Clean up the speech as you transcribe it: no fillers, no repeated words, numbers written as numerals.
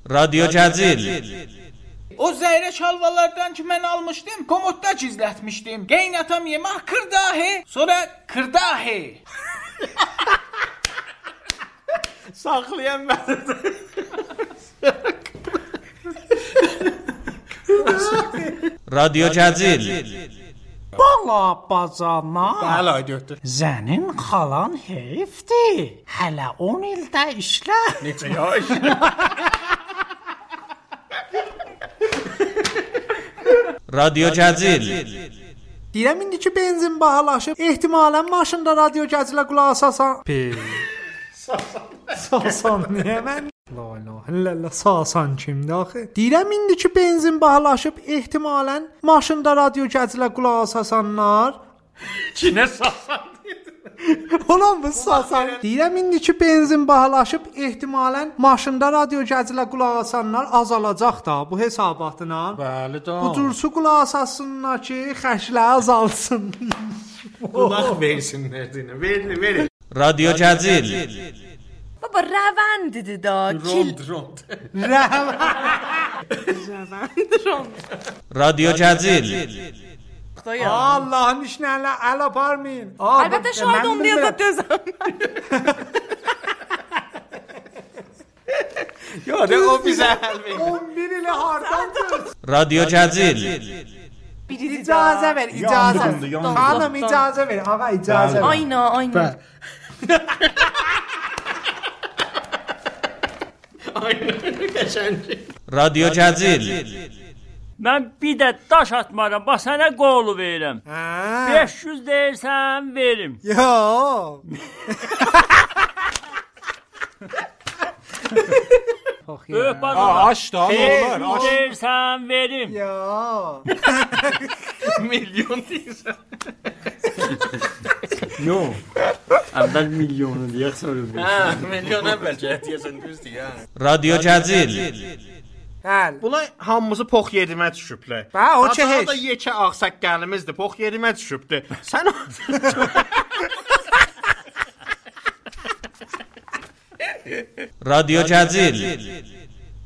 Radyo Cəzil. O zəyrə şalvalardan ki mən almışdım, komodda gizlətmişdim. Qeynatam yemək kırdahi, sonra kırdahi. Saxlayan mənim. Radyo Cəzil. Bala bacana. Bəli, ay götür. Zənin xalan heyfdir. Hələ 10 ildə işlə. Necə yaş? Radyo Cəzil. Deyirəm indi ki benzin bahalaşıb, ehtimalən maşında radyo Cəzilə qulaq asasan. Sasan niyə mən? La ilahe illallah, sasan kimdir axı? Deyirəm indi ki benzin bahalaşıb, ehtimalən maşında radyo Cəzilə qulaq asasanlar. Kinə sasan? Ulan bu sasan. Deyirəm indi ki benzin bahalaşıb, ehtimalən maşında radyo Cəzilə qulaq asanlar azalacaq da bu hesabatına. Bəli da. Bu cursu qulaq asasınlar ki xərclər azalsın. Qulaq versinlər deyinə. Verin. Radyo Cəzil. Baba rəvəndidir da. Rond. Radyo Cəzil. Allah'ın işlerine el aparmayın. Əlbəttə şahid olmaya da dözəm. Yo, de o bizə həll verir. 11 ile hardan göz. Radyo Cəzil. İcazə ver, icazə. Hanım icazə ver, ağa icazə ver. Aynen. Aynen, qəşəng. Radyo Cəzil. Mən bir də daş atmaram, bax sənə qolu verirəm. 500 deyirsən, verim. Yo. Böyük bazada. Aç da, olar. 500 deyirsən, verim. Yo. Milyon deyirsən. Yo. Əvvəl milyonu deyək, sonra verim. Milyon əvvəl deyəsən düzdür ya. Radyo Cəzil. Həl. Bunlar hamımızı pox yedimə düşüblər. Hə, o ki heç. Da yekə ağsaqqalımızdır, pox yedimə düşübdür. Sən Radyo Cəzil.